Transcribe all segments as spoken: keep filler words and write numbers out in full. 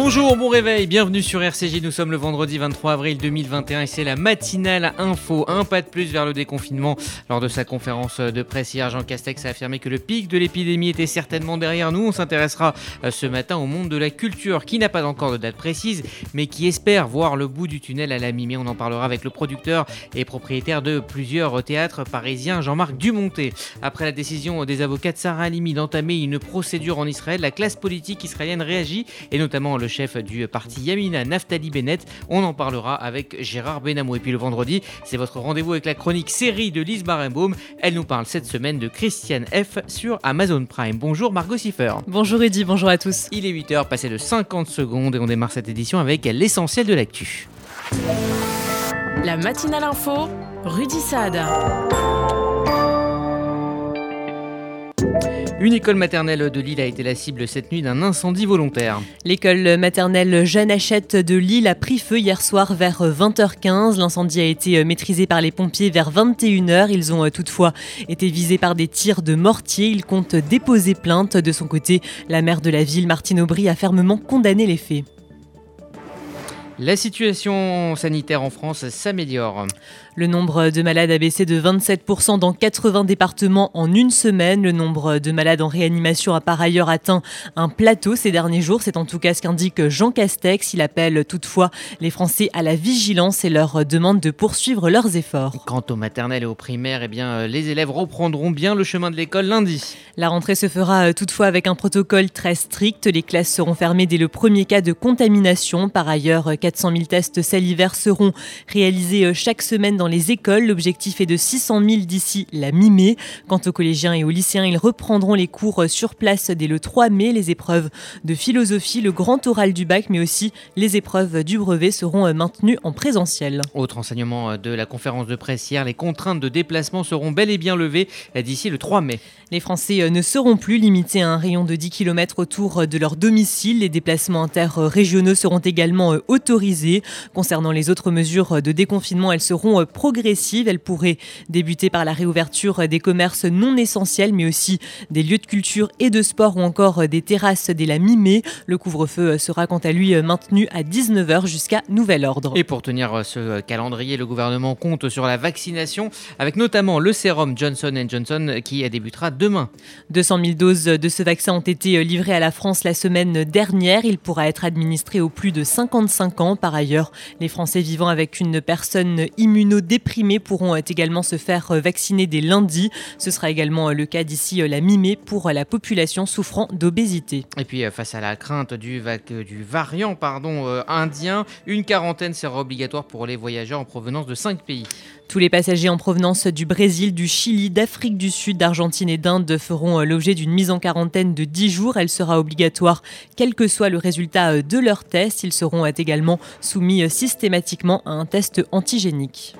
Bonjour, bon réveil, bienvenue sur R C J, nous sommes le vendredi vingt-trois avril deux mille vingt et un et c'est la matinale info, un pas de plus vers le déconfinement. Lors de sa conférence de presse hier, Jean Castex a affirmé que le pic de l'épidémie était certainement derrière nous. On s'intéressera ce matin au monde de la culture qui n'a pas encore de date précise mais qui espère voir le bout du tunnel à la mi-mai. On en parlera avec le producteur et propriétaire de plusieurs théâtres parisiens, Jean-Marc Dumontet. Après la décision des avocats de Sarah Halimi d'entamer une procédure en Israël, la classe politique israélienne réagit et notamment le chef du parti Yamina, Naftali Bennett. On en parlera avec Gérard Benamou. Et puis le vendredi, c'est votre rendez-vous avec la chronique série de Lise Barenbaum. Elle nous parle cette semaine de Christiane F. sur Amazon Prime. Bonjour Margot Siffer. Bonjour Rudy, bonjour à tous. Il est huit heures, passé de cinquante secondes et on démarre cette édition avec l'essentiel de l'actu. La matinale info, Rudy Saad. Une école maternelle de Lille a été la cible cette nuit d'un incendie volontaire. L'école maternelle Jeanne Hachette de Lille a pris feu hier soir vers vingt heures quinze. L'incendie a été maîtrisé par les pompiers vers vingt et une heures. Ils ont toutefois été visés par des tirs de mortier. Ils comptent déposer plainte. De son côté, la maire de la ville, Martine Aubry, a fermement condamné les faits. La situation sanitaire en France s'améliore. Le nombre de malades a baissé de vingt-sept pour cent dans quatre-vingts départements en une semaine. Le nombre de malades en réanimation a par ailleurs atteint un plateau ces derniers jours. C'est en tout cas ce qu'indique Jean Castex. Il appelle toutefois les Français à la vigilance et leur demande de poursuivre leurs efforts. Quant aux maternelles et aux primaires, eh bien, les élèves reprendront bien le chemin de l'école lundi. La rentrée se fera toutefois avec un protocole très strict. Les classes seront fermées dès le premier cas de contamination. Par ailleurs, quatre cent mille tests salivaires seront réalisés chaque semaine dans les écoles. L'objectif est de six cent mille d'ici la mi-mai. Quant aux collégiens et aux lycéens, ils reprendront les cours sur place dès le trois mai. Les épreuves de philosophie, le grand oral du bac, mais aussi les épreuves du brevet seront maintenues en présentiel. Autre enseignement de la conférence de presse hier, les contraintes de déplacement seront bel et bien levées d'ici le trois mai. Les Français ne seront plus limités à un rayon de dix kilomètres autour de leur domicile. Les déplacements interrégionaux seront également autorisés. Concernant les autres mesures de déconfinement, elles seront progressives. Elles pourraient débuter par la réouverture des commerces non essentiels, mais aussi des lieux de culture et de sport ou encore des terrasses dès la mi-mai. Le couvre-feu sera quant à lui maintenu à dix-neuf heures jusqu'à nouvel ordre. Et pour tenir ce calendrier, le gouvernement compte sur la vaccination, avec notamment le sérum Johnson and Johnson qui débutera demain. deux cent mille doses de ce vaccin ont été livrées à la France la semaine dernière. Il pourra être administré aux plus de cinquante-cinq ans. Par ailleurs, les Français vivant avec une personne immunodéprimée pourront également se faire vacciner dès lundi. Ce sera également le cas d'ici la mi-mai pour la population souffrant d'obésité. Et puis face à la crainte du, vac- du variant pardon, euh, indien, une quarantaine sera obligatoire pour les voyageurs en provenance de cinq pays. Tous les passagers en provenance du Brésil, du Chili, d'Afrique du Sud, d'Argentine et d'Inde feront l'objet d'une mise en quarantaine de dix jours. Elle sera obligatoire quel que soit le résultat de leur test. Ils seront également soumis systématiquement à un test antigénique.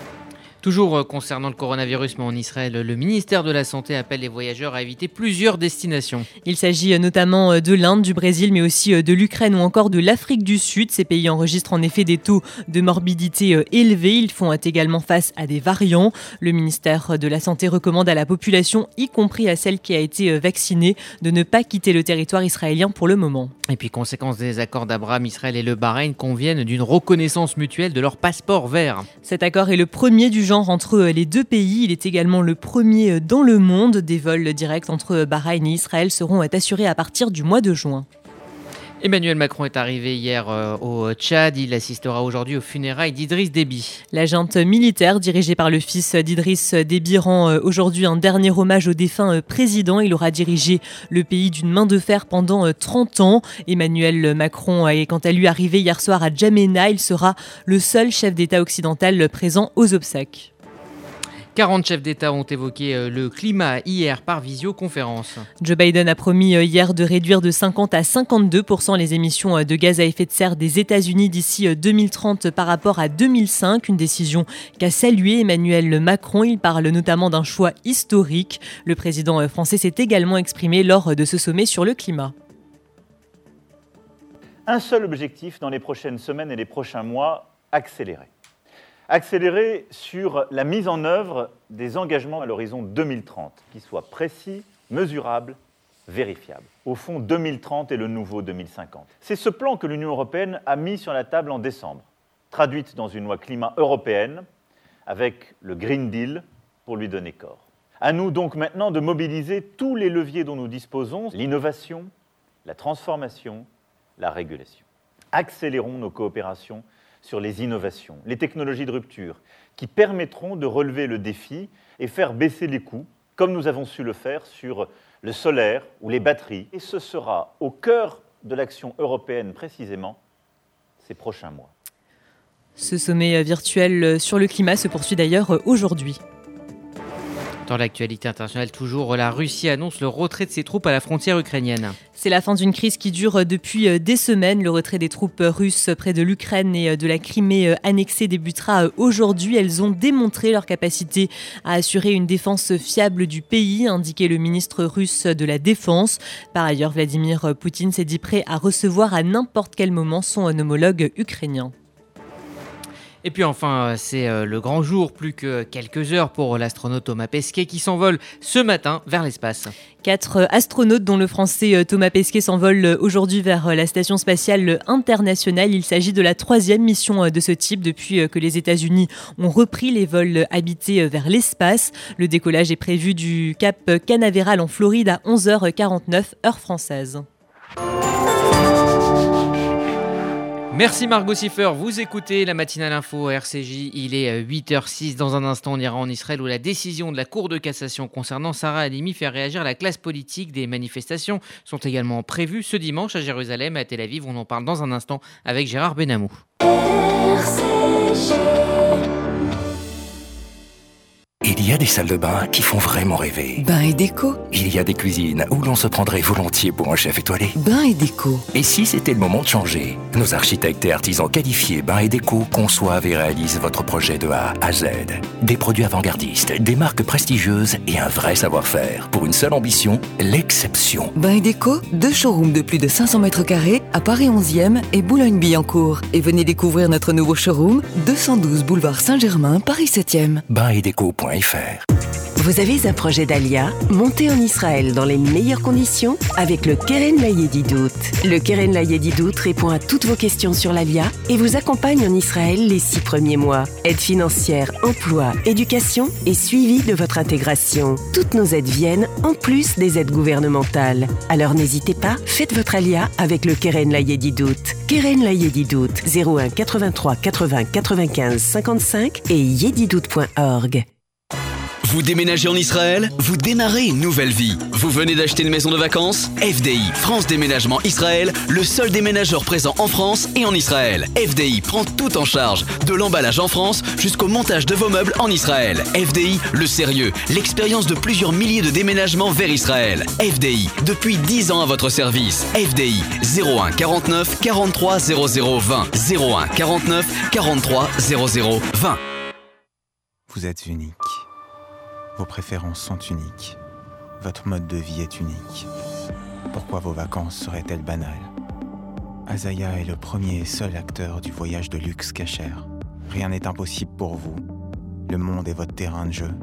Toujours concernant le coronavirus, mais en Israël, le ministère de la Santé appelle les voyageurs à éviter plusieurs destinations. Il s'agit notamment de l'Inde, du Brésil, mais aussi de l'Ukraine ou encore de l'Afrique du Sud. Ces pays enregistrent en effet des taux de morbidité élevés. Ils font également face à des variants. Le ministère de la Santé recommande à la population, y compris à celle qui a été vaccinée, de ne pas quitter le territoire israélien pour le moment. Et puis, conséquence des accords d'Abraham, Israël et le Bahreïn conviennent d'une reconnaissance mutuelle de leur passeport vert. Cet accord est le premier du genre entre les deux pays. Il est également le premier dans le monde. Des vols directs entre Bahreïn et Israël seront assurés à partir du mois de juin. Emmanuel Macron est arrivé hier euh, au Tchad. Il assistera aujourd'hui aux funérailles d'Idriss Déby. La junte militaire dirigée par le fils d'Idriss Déby rend euh, aujourd'hui un dernier hommage au défunt euh, président. Il aura dirigé le pays d'une main de fer pendant euh, trente ans. Emmanuel Macron est quant à lui arrivé hier soir à Djamena. Il sera le seul chef d'État occidental présent aux obsèques. quarante chefs d'État ont évoqué le climat hier par visioconférence. Joe Biden a promis hier de réduire de cinquante à cinquante-deux pour cent les émissions de gaz à effet de serre des États-Unis d'ici deux mille trente par rapport à deux mille cinq, une décision qu'a saluée Emmanuel Macron. Il parle notamment d'un choix historique. Le président français s'est également exprimé lors de ce sommet sur le climat. Un seul objectif dans les prochaines semaines et les prochains mois, accélérer. Accélérer sur la mise en œuvre des engagements à l'horizon deux mille trente, qui soient précis, mesurables, vérifiable. Au fond, deux mille trente est le nouveau deux mille cinquante. C'est ce plan que l'Union européenne a mis sur la table en décembre, traduite dans une loi climat européenne, avec le Green Deal pour lui donner corps. À nous donc maintenant de mobiliser tous les leviers dont nous disposons, l'innovation, la transformation, la régulation. Accélérons nos coopérations sur les innovations, les technologies de rupture, qui permettront de relever le défi et faire baisser les coûts, comme nous avons su le faire sur le solaire ou les batteries. Et ce sera au cœur de l'action européenne précisément ces prochains mois. Ce sommet virtuel sur le climat se poursuit d'ailleurs aujourd'hui. Dans l'actualité internationale, toujours, la Russie annonce le retrait de ses troupes à la frontière ukrainienne. C'est la fin d'une crise qui dure depuis des semaines. Le retrait des troupes russes près de l'Ukraine et de la Crimée annexée débutera aujourd'hui. Elles ont démontré leur capacité à assurer une défense fiable du pays, a indiqué le ministre russe de la Défense. Par ailleurs, Vladimir Poutine s'est dit prêt à recevoir à n'importe quel moment son homologue ukrainien. Et puis enfin, c'est le grand jour, plus que quelques heures pour l'astronaute Thomas Pesquet qui s'envole ce matin vers l'espace. Quatre astronautes, dont le français Thomas Pesquet, s'envolent aujourd'hui vers la Station spatiale internationale. Il s'agit de la troisième mission de ce type depuis que les États-Unis ont repris les vols habités vers l'espace. Le décollage est prévu du Cap Canaveral en Floride à onze heures quarante-neuf, heure française. Merci Margot Siffer, vous écoutez la matinale info R C J, il est huit heures six. Dans un instant, on ira en Israël où la décision de la Cour de cassation concernant Sarah Halimi fait réagir la classe politique. Des manifestations sont également prévues ce dimanche à Jérusalem et à Tel Aviv. On en parle dans un instant avec Gérard Benamou. R C J. Il y a des salles de bain qui font vraiment rêver. Bain et déco. Il y a des cuisines où l'on se prendrait volontiers pour un chef étoilé. Bain et déco. Et si c'était le moment de changer? Nos architectes et artisans qualifiés Bain et Déco conçoivent et réalisent votre projet de A à Z. Des produits avant-gardistes, des marques prestigieuses et un vrai savoir-faire. Pour une seule ambition, l'exception. Bain et Déco, deux showrooms de plus de cinq cents mètres carrés à Paris onzième et Boulogne-Billancourt. Et venez découvrir notre nouveau showroom, deux cent douze boulevard Saint-Germain, Paris septième. bain et déco point f r. Vous avez un projet d'Alia? Montez en Israël dans les meilleures conditions avec le Keren Layedidout. Le Keren Layedidout répond à toutes vos questions sur l'Alia et vous accompagne en Israël les six premiers mois. Aide financière, emploi, éducation et suivi de votre intégration. Toutes nos aides viennent en plus des aides gouvernementales. Alors n'hésitez pas, faites votre Alia avec le Keren Layedidout. Keren Layedidout, zéro un quatre-vingt-trois quatre-vingts quatre-vingt-quinze cinquante-cinq et yedidout point org. Vous déménagez en Israël? Vous démarrez une nouvelle vie. Vous venez d'acheter une maison de vacances? F D I, France Déménagement Israël, le seul déménageur présent en France et en Israël. F D I prend tout en charge, de l'emballage en France jusqu'au montage de vos meubles en Israël. F D I, le sérieux, l'expérience de plusieurs milliers de déménagements vers Israël. F D I, depuis dix ans à votre service. F D I, zéro un quarante-neuf quarante-trois zéro zéro vingt. zéro un quarante-neuf quarante-trois zéro zéro vingt. Vous êtes unique. Vos préférences sont uniques. Votre mode de vie est unique. Pourquoi vos vacances seraient-elles banales? Azaya est le premier et seul acteur du voyage de luxe Cacher. Rien n'est impossible pour vous. Le monde est votre terrain de jeu.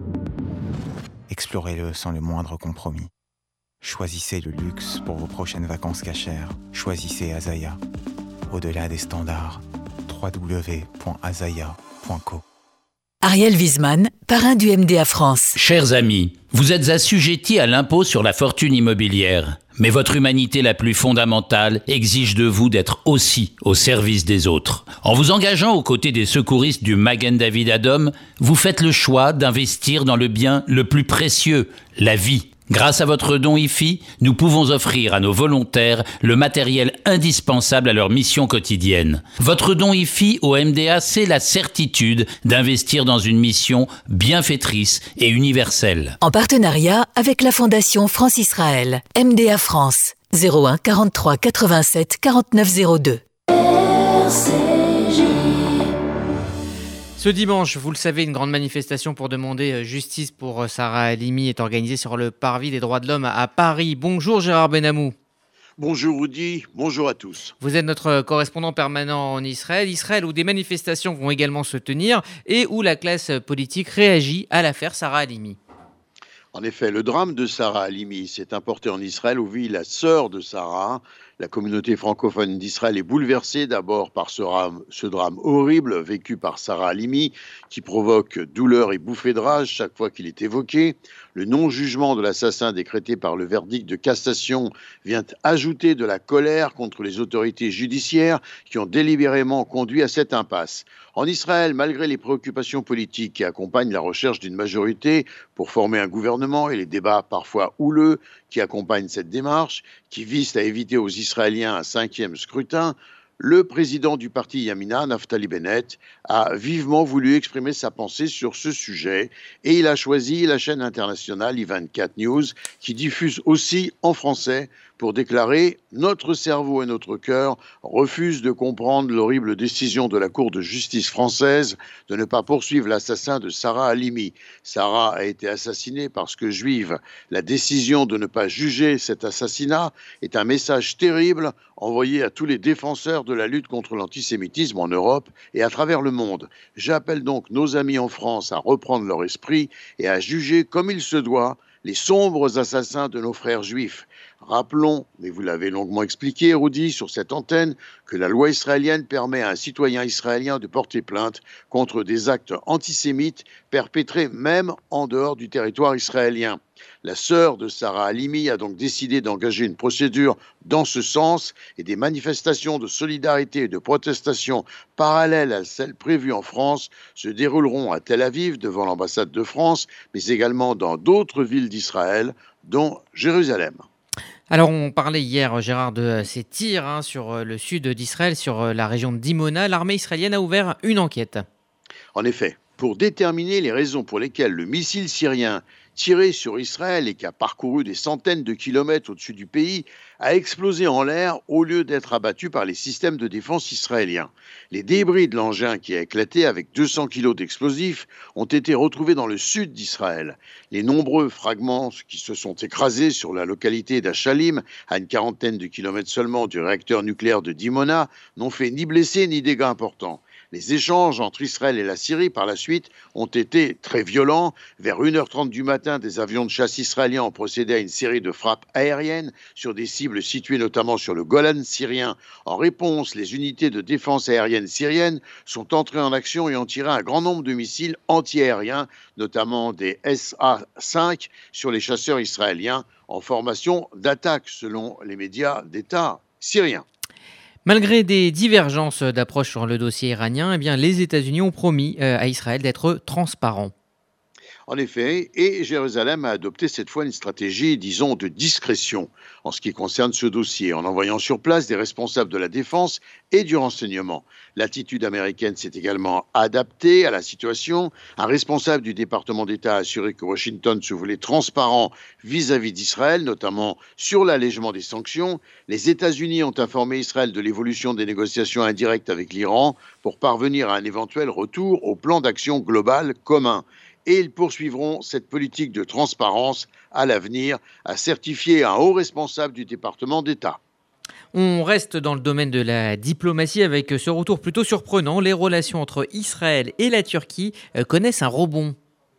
Explorez-le sans le moindre compromis. Choisissez le luxe pour vos prochaines vacances Cacher. Choisissez Azaya. Au-delà des standards, w w w point azaya point co. Ariel Wiesman, parrain du M D A France. Chers amis, vous êtes assujettis à l'impôt sur la fortune immobilière. Mais votre humanité la plus fondamentale exige de vous d'être aussi au service des autres. En vous engageant aux côtés des secouristes du Magen David Adom, vous faites le choix d'investir dans le bien le plus précieux, la vie. Grâce à votre don I F I, nous pouvons offrir à nos volontaires le matériel indispensable à leur mission quotidienne. Votre don I F I au M D A, c'est la certitude d'investir dans une mission bienfaitrice et universelle. En partenariat avec la Fondation France-Israël, M D A France, zéro un quarante-trois quatre-vingt-sept quarante-neuf zéro deux. R C J. Ce dimanche, vous le savez, une grande manifestation pour demander justice pour Sarah Halimi est organisée sur le parvis des droits de l'homme à Paris. Bonjour Gérard Benamou. Bonjour Rudy, bonjour à tous. Vous êtes notre correspondant permanent en Israël. Israël où des manifestations vont également se tenir et où la classe politique réagit à l'affaire Sarah Halimi. En effet, le drame de Sarah Halimi s'est importé en Israël où vit la sœur de Sarah. La communauté francophone d'Israël est bouleversée d'abord par ce drame, ce drame horrible vécu par Sarah Halimi qui provoque douleur et bouffées de rage chaque fois qu'il est évoqué. Le non-jugement de l'assassin décrété par le verdict de cassation vient ajouter de la colère contre les autorités judiciaires qui ont délibérément conduit à cette impasse. En Israël, malgré les préoccupations politiques qui accompagnent la recherche d'une majorité pour former un gouvernement et les débats parfois houleux qui accompagnent cette démarche, qui visent à éviter aux Israéliens un cinquième scrutin, le président du parti Yamina, Naftali Bennett, a vivement voulu exprimer sa pensée sur ce sujet et il a choisi la chaîne internationale I vingt-quatre News qui diffuse aussi en français pour déclarer « Notre cerveau et notre cœur refusent de comprendre l'horrible décision de la Cour de justice française de ne pas poursuivre l'assassin de Sarah Halimi. Sarah a été assassinée parce que juive. La décision de ne pas juger cet assassinat est un message terrible envoyé à tous les défenseurs de la lutte contre l'antisémitisme en Europe et à travers le monde. J'appelle donc nos amis en France à reprendre leur esprit et à juger comme il se doit les sombres assassins de nos frères juifs. Rappelons, mais vous l'avez longuement expliqué, Rudy, sur cette antenne, que la loi israélienne permet à un citoyen israélien de porter plainte contre des actes antisémites perpétrés même en dehors du territoire israélien. La sœur de Sarah Halimi a donc décidé d'engager une procédure dans ce sens et des manifestations de solidarité et de protestation parallèles à celles prévues en France se dérouleront à Tel Aviv devant l'ambassade de France, mais également dans d'autres villes d'Israël, dont Jérusalem. Alors on parlait hier, Gérard, de ces tirs hein, sur le sud d'Israël, sur la région de Dimona. L'armée israélienne a ouvert une enquête. En effet, pour déterminer les raisons pour lesquelles le missile syrien tiré sur Israël et qui a parcouru des centaines de kilomètres au-dessus du pays, a explosé en l'air au lieu d'être abattu par les systèmes de défense israéliens. Les débris de l'engin qui a éclaté avec deux cents kilos d'explosifs ont été retrouvés dans le sud d'Israël. Les nombreux fragments qui se sont écrasés sur la localité d'Achalim, à une quarantaine de kilomètres seulement du réacteur nucléaire de Dimona, n'ont fait ni blessés ni dégâts importants. Les échanges entre Israël et la Syrie par la suite ont été très violents. Vers une heure trente du matin, des avions de chasse israéliens ont procédé à une série de frappes aériennes sur des cibles situées notamment sur le Golan syrien. En réponse, les unités de défense aérienne syriennes sont entrées en action et ont tiré un grand nombre de missiles anti-aériens, notamment des S A cinq, sur les chasseurs israéliens en formation d'attaque, selon les médias d'État syriens. Malgré des divergences d'approche sur le dossier iranien, eh bien, les États-Unis ont promis à Israël d'être transparents. En effet, et Jérusalem a adopté cette fois une stratégie, disons, de discrétion en ce qui concerne ce dossier, en envoyant sur place des responsables de la défense et du renseignement. L'attitude américaine s'est également adaptée à la situation. Un responsable du département d'État a assuré que Washington se voulait transparent vis-à-vis d'Israël, notamment sur l'allègement des sanctions. Les États-Unis ont informé Israël de l'évolution des négociations indirectes avec l'Iran pour parvenir à un éventuel retour au plan d'action global commun. Et ils poursuivront cette politique de transparence à l'avenir, a certifié un haut responsable du département d'État. On reste dans le domaine de la diplomatie avec ce retour plutôt surprenant. Les relations entre Israël et la Turquie connaissent un rebond.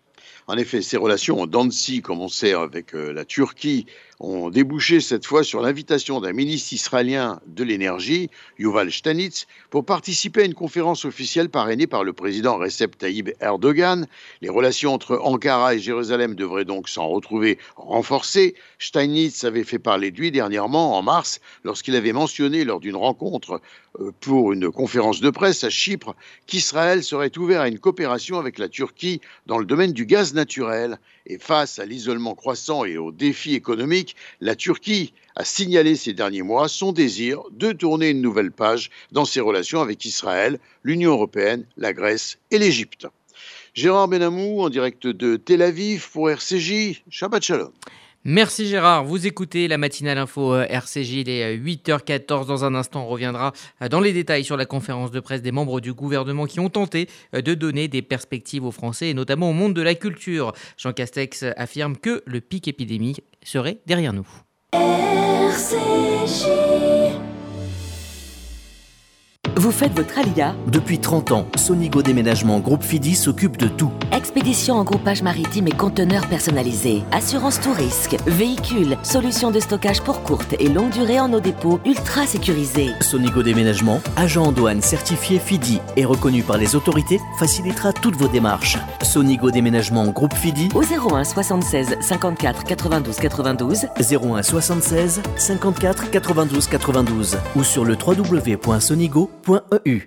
En effet, ces relations en dents de scie, comme on sait avec la Turquie, ont débouché cette fois sur l'invitation d'un ministre israélien de l'énergie, Yuval Steinitz, pour participer à une conférence officielle parrainée par le président Recep Tayyip Erdogan. Les relations entre Ankara et Jérusalem devraient donc s'en retrouver renforcées. Steinitz avait fait parler de lui dernièrement, en mars, lorsqu'il avait mentionné lors d'une rencontre pour une conférence de presse à Chypre qu'Israël serait ouvert à une coopération avec la Turquie dans le domaine du gaz naturel. Et face à l'isolement croissant et aux défis économiques, la Turquie a signalé ces derniers mois son désir de tourner une nouvelle page dans ses relations avec Israël, l'Union européenne, la Grèce et l'Égypte. Gérard Benamou, en direct de Tel Aviv pour R C J. Shabbat Shalom. Merci Gérard, vous écoutez la matinale info R C J, il est huit heures quatorze. Dans un instant, on reviendra dans les détails sur la conférence de presse des membres du gouvernement qui ont tenté de donner des perspectives aux Français et notamment au monde de la culture. Jean Castex affirme que le pic épidémique serait derrière nous. R C J. Vous faites votre alia? Depuis trente ans, Sonigo Déménagement Groupe Fidi s'occupe de tout. Expédition en groupage maritime et conteneurs personnalisés. Assurance tout risque. Véhicules. Solutions de stockage pour courte et longue durée en nos dépôts ultra sécurisés. Sonigo Déménagement, agent en douane certifié Fidi et reconnu par les autorités, facilitera toutes vos démarches. Sonigo Déménagement Groupe Fidi au zéro un soixante-seize cinquante-quatre quatre-vingt-douze quatre-vingt-douze zéro un soixante-seize cinquante-quatre quatre-vingt-douze quatre-vingt-douze ou sur le w w w point sonigo point e u.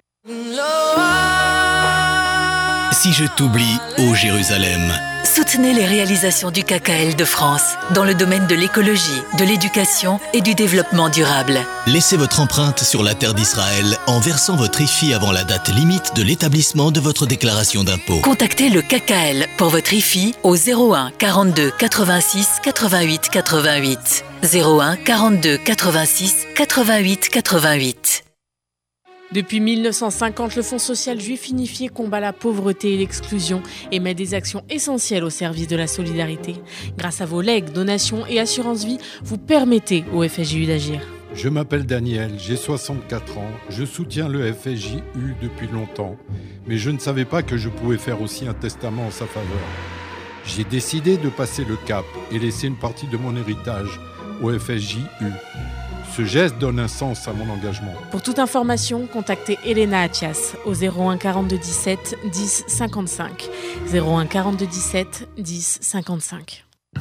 Si je t'oublie, ô Jérusalem. Soutenez les réalisations du K K L de France dans le domaine de l'écologie, de l'éducation et du développement durable. Laissez votre empreinte sur la terre d'Israël en versant votre I F I avant la date limite de l'établissement de votre déclaration d'impôt. Contactez le K K L pour votre I F I au zéro un quarante-deux quatre-vingt-six quatre-vingt-huit quatre-vingt-huit. zéro un quarante-deux quatre-vingt-six quatre-vingt-huit quatre-vingt-huit. Depuis mille neuf cent cinquante, le Fonds social juif unifié combat la pauvreté et l'exclusion et met des actions essentielles au service de la solidarité. Grâce à vos legs, donations et assurances vie, vous permettez au F S J U d'agir. Je m'appelle Daniel, j'ai soixante-quatre ans, je soutiens le F S J U depuis longtemps, mais je ne savais pas que je pouvais faire aussi un testament en sa faveur. J'ai décidé de passer le cap et laisser une partie de mon héritage au F S J U. Ce geste donne un sens à mon engagement. Pour toute information, contactez Elena Atias au zéro un quarante-deux dix-sept dix cinquante-cinq. zéro un quarante-deux dix-sept dix cinquante-cinq.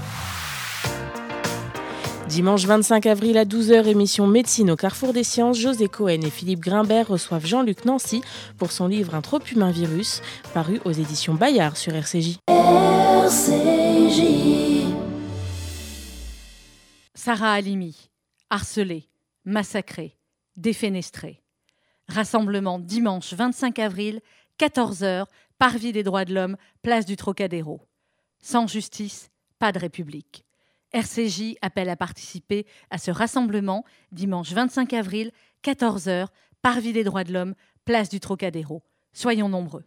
Dimanche vingt-cinq avril à douze heures, émission Médecine au Carrefour des Sciences, José Cohen et Philippe Grimbert reçoivent Jean-Luc Nancy pour son livre Un trop humain virus, paru aux éditions Bayard sur R C J. R C J. Sarah Halimi. Harcelée, massacrée, défenestrée. Rassemblement dimanche vingt-cinq avril, quatorze heures, Parvis des droits de l'homme, place du Trocadéro. Sans justice, pas de république. R C J appelle à participer à ce rassemblement dimanche vingt-cinq avril, quatorze heures, Parvis des droits de l'homme, place du Trocadéro. Soyons nombreux.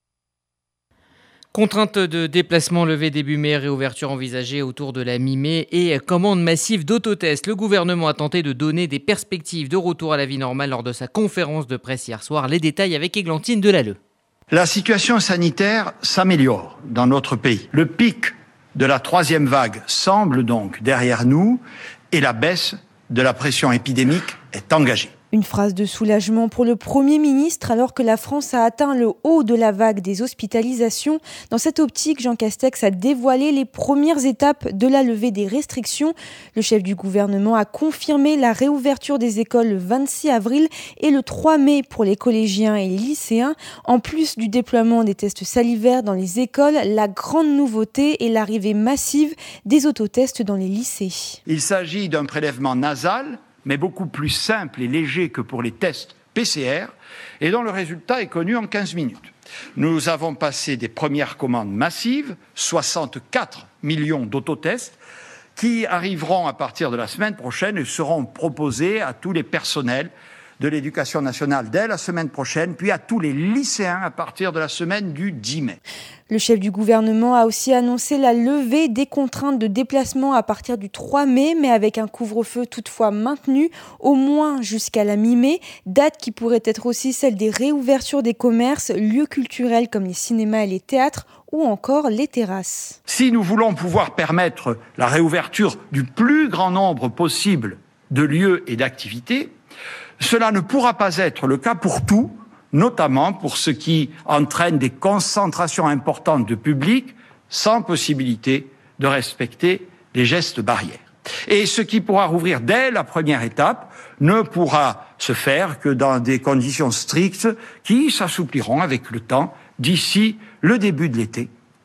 Contrainte de déplacement levée début mai, réouverture envisagée autour de la mi-mai et commande massive d'autotests. Le gouvernement a tenté de donner des perspectives de retour à la vie normale lors de sa conférence de presse hier soir. Les détails avec Églantine Delalleux. La situation sanitaire s'améliore dans notre pays. Le pic de la troisième vague semble donc derrière nous et la baisse de la pression épidémique est engagée. Une phrase de soulagement pour le Premier ministre alors que la France a atteint le haut de la vague des hospitalisations. Dans cette optique, Jean Castex a dévoilé les premières étapes de la levée des restrictions. Le chef du gouvernement a confirmé la réouverture des écoles le vingt-six avril et le trois mai pour les collégiens et les lycéens. En plus du déploiement des tests salivaires dans les écoles, la grande nouveauté est l'arrivée massive des autotests dans les lycées. Il s'agit d'un prélèvement nasal, mais beaucoup plus simple et léger que pour les tests P C R, et dont le résultat est connu en quinze minutes. Nous avons passé des premières commandes massives, soixante-quatre millions d'autotests, qui arriveront à partir de la semaine prochaine et seront proposés à tous les personnels de l'Éducation nationale dès la semaine prochaine, puis à tous les lycéens à partir de la semaine du dix mai. Le chef du gouvernement a aussi annoncé la levée des contraintes de déplacement à partir du trois mai, mais avec un couvre-feu toutefois maintenu, au moins jusqu'à la mi-mai, date qui pourrait être aussi celle des réouvertures des commerces, lieux culturels comme les cinémas et les théâtres, ou encore les terrasses. Si nous voulons pouvoir permettre la réouverture du plus grand nombre possible de lieux et d'activités, cela ne pourra pas être le cas pour tout, notamment pour ce qui entraîne des concentrations importantes de public sans possibilité de respecter les gestes barrières. Et ce qui pourra rouvrir dès la première étape ne pourra se faire que dans des conditions strictes qui s'assoupliront avec le temps d'ici le début de l'été,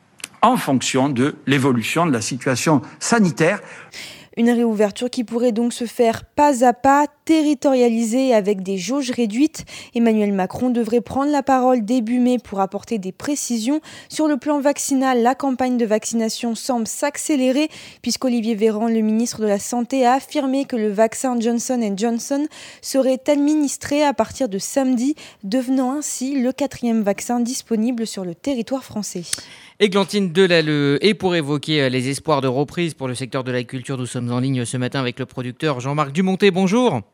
en fonction de l'évolution de la situation sanitaire. Une réouverture qui pourrait donc se faire pas à pas, territorialisée avec des jauges réduites. Emmanuel Macron devrait prendre la parole début mai pour apporter des précisions. Sur le plan vaccinal, la campagne de vaccination semble s'accélérer puisqu'Olivier Véran, le ministre de la Santé, a affirmé que le vaccin Johnson and Johnson serait administré à partir de samedi, devenant ainsi le quatrième vaccin disponible sur le territoire français. Églantine Delalleux. Et pour évoquer les espoirs de reprise pour le secteur de la culture, nous sommes en ligne ce matin avec le producteur Jean-Marc Dumonté. Bonjour.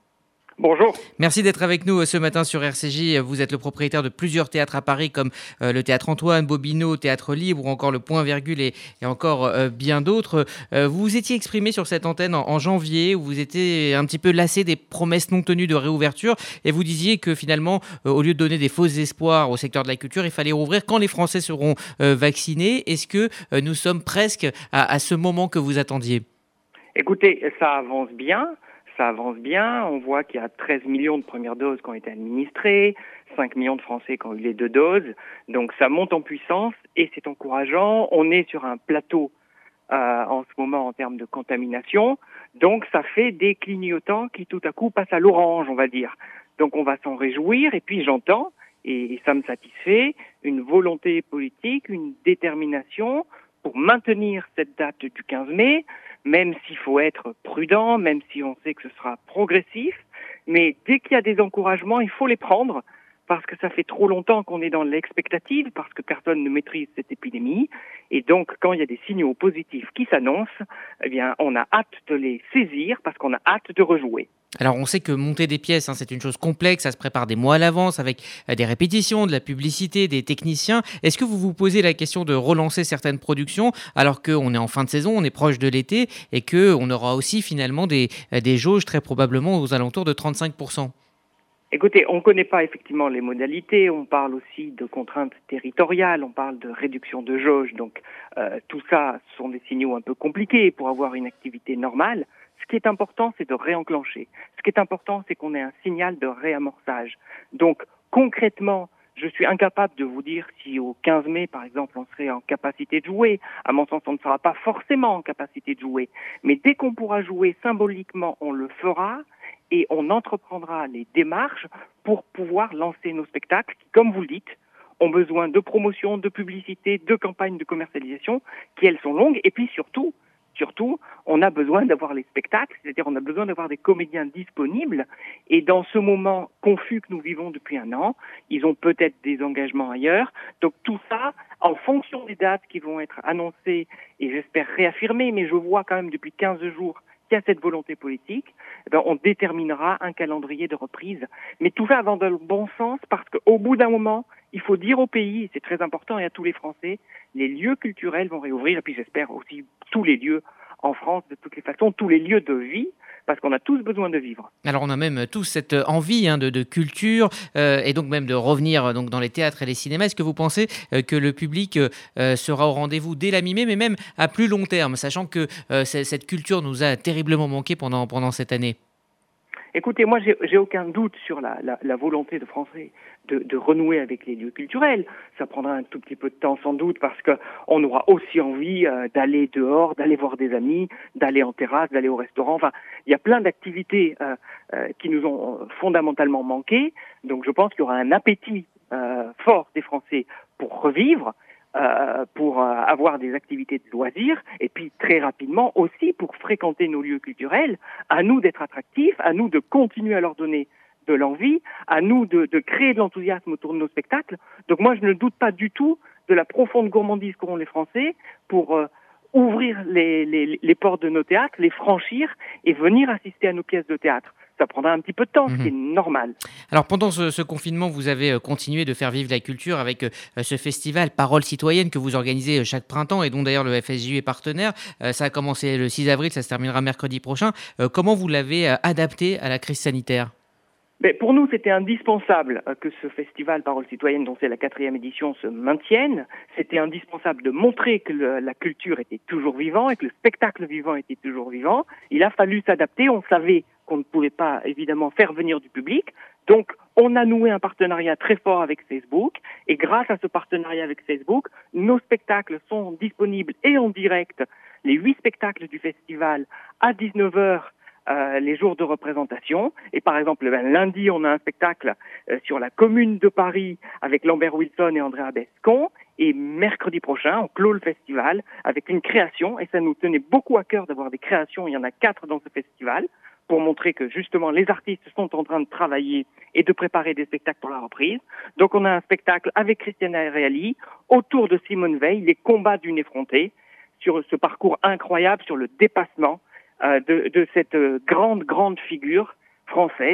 Bonjour. Merci d'être avec nous ce matin sur R C J. Vous êtes le propriétaire de plusieurs théâtres à Paris comme euh, le Théâtre Antoine, Bobino, Théâtre Libre ou encore le Point Virgule et, et encore euh, bien d'autres. Euh, vous vous étiez exprimé sur cette antenne en, en janvier où vous étiez un petit peu lassé des promesses non tenues de réouverture et vous disiez que finalement, euh, au lieu de donner des faux espoirs au secteur de la culture, il fallait rouvrir quand les Français seront euh, vaccinés. Est-ce que euh, nous sommes presque à, à ce moment que vous attendiez ? Écoutez, ça avance bien. Ça avance bien, on voit qu'il y a treize millions de premières doses qui ont été administrées, cinq millions de Français qui ont eu les deux doses, donc ça monte en puissance et c'est encourageant. On est sur un plateau euh, en ce moment en termes de contamination, donc ça fait des clignotants qui tout à coup passent à l'orange, on va dire. Donc on va s'en réjouir et puis j'entends, et ça me satisfait, une volonté politique, une détermination pour maintenir cette date du quinze mai, même s'il faut être prudent, même si on sait que ce sera progressif. Mais dès qu'il y a des encouragements, il faut les prendre, parce que ça fait trop longtemps qu'on est dans l'expectative, parce que personne ne maîtrise cette épidémie. Et donc, quand il y a des signaux positifs qui s'annoncent, eh bien, on a hâte de les saisir, parce qu'on a hâte de rejouer. Alors on sait que monter des pièces, hein, c'est une chose complexe, ça se prépare des mois à l'avance avec euh, des répétitions, de la publicité, des techniciens. Est-ce que vous vous posez la question de relancer certaines productions alors qu'on est en fin de saison, on est proche de l'été et qu'on aura aussi finalement des, euh, des jauges très probablement aux alentours de trente-cinq pour cent ? Écoutez, on ne connaît pas effectivement les modalités, on parle aussi de contraintes territoriales, on parle de réduction de jauge, donc euh, tout ça sont des signaux un peu compliqués pour avoir une activité normale. Ce qui est important, c'est de réenclencher. Ce qui est important, c'est qu'on ait un signal de réamorçage. Donc, concrètement, je suis incapable de vous dire si au quinze mai, par exemple, on serait en capacité de jouer. À mon sens, on ne sera pas forcément en capacité de jouer. Mais dès qu'on pourra jouer symboliquement, on le fera et on entreprendra les démarches pour pouvoir lancer nos spectacles qui, comme vous le dites, ont besoin de promotion, de publicité, de campagnes de commercialisation qui, elles, sont longues. Et puis surtout, Surtout, on a besoin d'avoir les spectacles, c'est-à-dire on a besoin d'avoir des comédiens disponibles. Et dans ce moment confus que nous vivons depuis un an, ils ont peut-être des engagements ailleurs. Donc tout ça, en fonction des dates qui vont être annoncées et j'espère réaffirmées, mais je vois quand même depuis quinze jours qu'il y a cette volonté politique, eh bien, on déterminera un calendrier de reprise. Mais tout ça va dans le bon sens parce qu'au bout d'un moment, il faut dire au pays, et c'est très important, et à tous les Français, les lieux culturels vont réouvrir, et puis j'espère aussi tous les lieux en France, de toutes les façons, tous les lieux de vie, parce qu'on a tous besoin de vivre. Alors on a même tous cette envie hein, de, de culture, euh, et donc même de revenir donc, dans les théâtres et les cinémas. Est-ce que vous pensez euh, que le public euh, sera au rendez-vous dès la mi-mai, mais même à plus long terme, sachant que euh, cette culture nous a terriblement manqué pendant, pendant cette année ? Écoutez, moi, j'ai, j'ai aucun doute sur la, la, la volonté de Français de, de renouer avec les lieux culturels. Ça prendra un tout petit peu de temps, sans doute, parce que on aura aussi envie euh, d'aller dehors, d'aller voir des amis, d'aller en terrasse, d'aller au restaurant. Enfin, il y a plein d'activités euh, euh, qui nous ont fondamentalement manqué. Donc, je pense qu'il y aura un appétit euh, fort des Français pour revivre. Euh, pour euh, avoir des activités de loisirs et puis très rapidement aussi pour fréquenter nos lieux culturels, à nous d'être attractifs, à nous de continuer à leur donner de l'envie, à nous de, de créer de l'enthousiasme autour de nos spectacles. Donc moi je ne doute pas du tout de la profonde gourmandise qu'auront les Français pour euh, ouvrir les, les, les portes de nos théâtres, les franchir et venir assister à nos pièces de théâtre. Ça prendra un petit peu de temps, mmh. ce qui est normal. Alors pendant ce, ce confinement, vous avez continué de faire vivre la culture avec euh, ce festival Parole citoyenne que vous organisez chaque printemps et dont d'ailleurs le F S J est partenaire. Euh, ça a commencé le six avril, ça se terminera mercredi prochain. Euh, comment vous l'avez euh, adapté à la crise sanitaire ? Mais pour nous, c'était indispensable que ce festival Parole citoyenne, dont c'est la quatrième édition, se maintienne. C'était indispensable de montrer que le, la culture était toujours vivante et que le spectacle vivant était toujours vivant. Il a fallu s'adapter. On savait qu'on ne pouvait pas, évidemment, faire venir du public. Donc, on a noué un partenariat très fort avec Facebook. Et grâce à ce partenariat avec Facebook, nos spectacles sont disponibles et en direct. Les huit spectacles du festival à dix-neuf heures. Euh, les jours de représentation. Et par exemple, ben, lundi, on a un spectacle euh, sur la commune de Paris avec Lambert Wilson et Andrea Bescon. Et mercredi prochain, on clôt le festival avec une création. Et ça nous tenait beaucoup à cœur d'avoir des créations. Il y en a quatre dans ce festival pour montrer que justement les artistes sont en train de travailler et de préparer des spectacles pour la reprise. Donc on a un spectacle avec Christiana Reali autour de Simone Veil, les combats d'une effrontée, sur ce parcours incroyable, sur le dépassement Euh, de, de cette euh, grande, grande figure française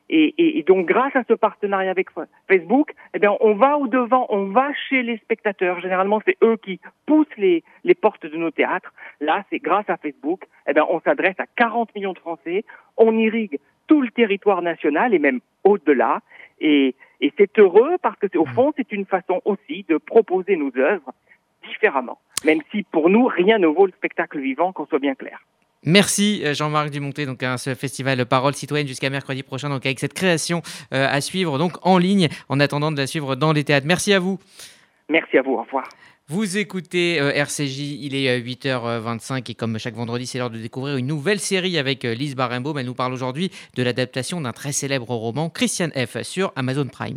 Et, et, et donc, grâce à ce partenariat avec Facebook, eh bien, on va au devant, on va chez les spectateurs. Généralement, c'est eux qui poussent les, les portes de nos théâtres. Là, c'est grâce à Facebook, eh bien, on s'adresse à quarante millions de Français. On irrigue tout le territoire national et même au-delà. Et, et c'est heureux parce que, au fond, c'est une façon aussi de proposer nos œuvres différemment. Même si, pour nous, rien ne vaut le spectacle vivant, qu'on soit bien clair. Merci Jean-Marc Dumontet, donc à ce festival Parole Citoyenne jusqu'à mercredi prochain, donc avec cette création euh, à suivre donc en ligne en attendant de la suivre dans les théâtres. Merci à vous. Merci à vous, au revoir. Vous écoutez euh, R C J, il est euh, huit heures vingt-cinq et comme chaque vendredi, c'est l'heure de découvrir une nouvelle série avec euh, Lise Barenbaum. Elle nous parle aujourd'hui de l'adaptation d'un très célèbre roman, Christiane F, sur Amazon Prime.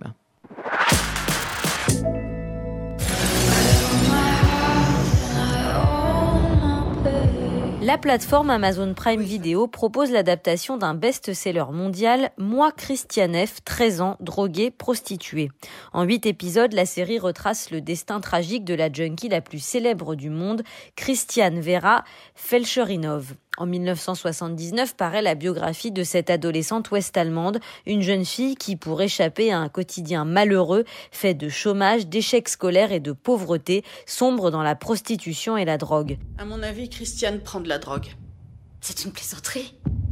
La plateforme Amazon Prime Video propose l'adaptation d'un best-seller mondial, Moi, Christiane F, treize ans, droguée, prostituée. En huit épisodes, la série retrace le destin tragique de la junkie la plus célèbre du monde, Christiane Vera Felcherinov. En dix-neuf cent soixante-dix-neuf paraît la biographie de cette adolescente ouest-allemande, une jeune fille qui, pour échapper à un quotidien malheureux, fait de chômage, d'échecs scolaires et de pauvreté, sombre dans la prostitution et la drogue. À mon avis, Christiane prend de la drogue. C'est une plaisanterie.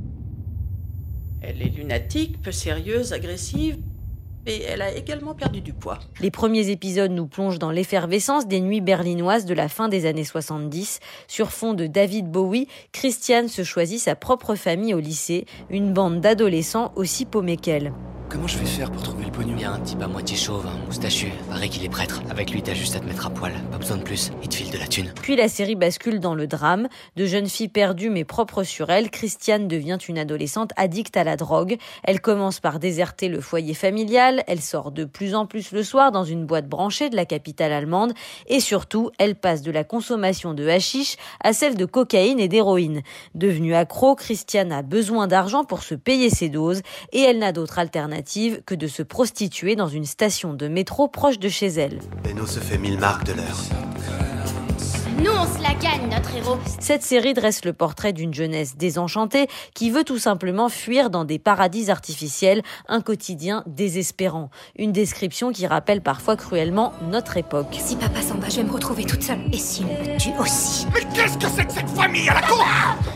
Elle est lunatique, peu sérieuse, agressive. Et elle a également perdu du poids. Les premiers épisodes nous plongent dans l'effervescence des nuits berlinoises de la fin des années soixante-dix. Sur fond de David Bowie, Christiane se choisit sa propre famille au lycée, une bande d'adolescents aussi paumés qu'elle. Comment je vais faire pour trouver le pognon ? Il y a un type à moitié chauve, un moustachu, paraît qu'il est prêtre. Avec lui, t'as juste à te mettre à poil, pas besoin de plus, il te file de la thune. Puis la série bascule dans le drame. De jeune fille perdue mais propre sur elle, Christiane devient une adolescente addicte à la drogue. Elle commence par déserter le foyer familial, elle sort de plus en plus le soir dans une boîte branchée de la capitale allemande et surtout, elle passe de la consommation de hashish à celle de cocaïne et d'héroïne. Devenue accro, Christiane a besoin d'argent pour se payer ses doses et elle n'a d'autre alternative que de se prostituer dans une station de métro proche de chez elle. Beno se fait mille marques de l'heure. Nous, on se la gagne, notre héros. Cette série dresse le portrait d'une jeunesse désenchantée qui veut tout simplement fuir dans des paradis artificiels, un quotidien désespérant. Une description qui rappelle parfois cruellement notre époque. Si papa s'en va, je vais me retrouver toute seule. Et s'il me tue aussi. Mais qu'est-ce que c'est que cette famille à la con ?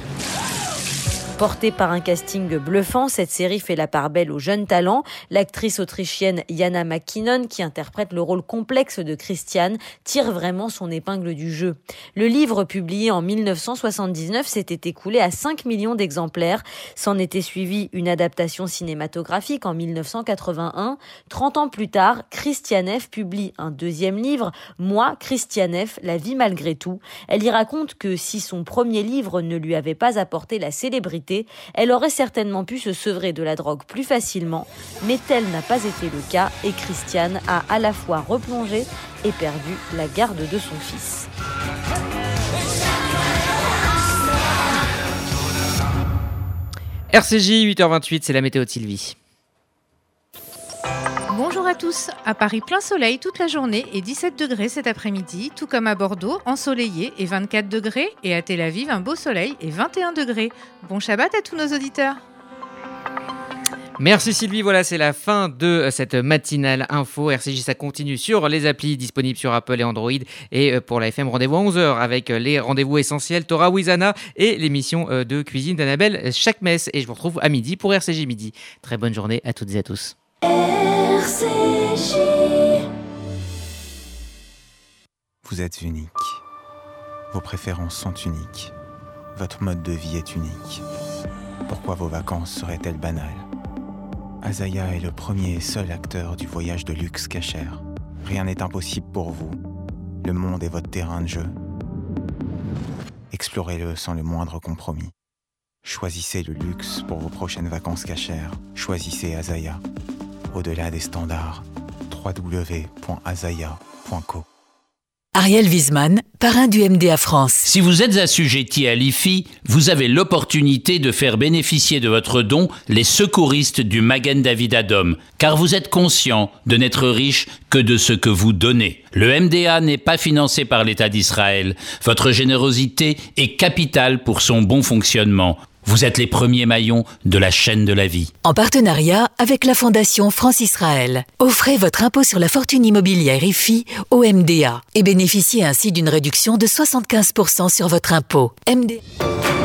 Portée par un casting bluffant, cette série fait la part belle aux jeunes talents. L'actrice autrichienne Jana McKinnon, qui interprète le rôle complexe de Christiane, tire vraiment son épingle du jeu. Le livre, publié en dix-neuf cent soixante-dix-neuf, s'était écoulé à cinq millions d'exemplaires. S'en était suivi une adaptation cinématographique en dix-neuf cent quatre-vingt-un. trente ans plus tard, Christiane F publie un deuxième livre, Moi, Christiane F, la vie malgré tout. Elle y raconte que si son premier livre ne lui avait pas apporté la célébrité, elle aurait certainement pu se sevrer de la drogue plus facilement, mais tel n'a pas été le cas et Christiane a à la fois replongé et perdu la garde de son fils. R C J, huit heures vingt-huit, c'est la météo de Sylvie. Bonjour à tous. À Paris, plein soleil toute la journée et dix-sept degrés cet après-midi, tout comme à Bordeaux, ensoleillé et vingt-quatre degrés, et à Tel Aviv, un beau soleil et vingt et un degrés. Bon Shabbat à tous nos auditeurs. Merci Sylvie, voilà c'est la fin de cette matinale info. R C J, ça continue sur les applis disponibles sur Apple et Android. Et pour la F M, rendez-vous à onze heures avec les rendez-vous essentiels Torah Wizana et l'émission de cuisine d'Annabelle chaque messe. Et je vous retrouve à midi pour R C J Midi. Très bonne journée à toutes et à tous. R C J. Vous êtes unique. Vos préférences sont uniques. Votre mode de vie est unique. Pourquoi vos vacances seraient-elles banales ? Azaya est le premier et seul acteur du voyage de luxe cachère. Rien n'est impossible pour vous. Le monde est votre terrain de jeu. Explorez-le sans le moindre compromis. Choisissez le luxe pour vos prochaines vacances cachères. Choisissez Azaya. Au-delà des standards, w w w point azaya point co. Ariel Wiesman, parrain du M D A France. Si vous êtes assujetti à l'I F I, vous avez l'opportunité de faire bénéficier de votre don les secouristes du Magen David Adom, car vous êtes conscient de n'être riche que de ce que vous donnez. Le M D A n'est pas financé par l'État d'Israël. Votre générosité est capitale pour son bon fonctionnement. Vous êtes les premiers maillons de la chaîne de la vie. En partenariat avec la Fondation France-Israël. Offrez votre impôt sur la fortune immobilière I F I au M D A et bénéficiez ainsi d'une réduction de soixante-quinze pour cent sur votre impôt. M D A.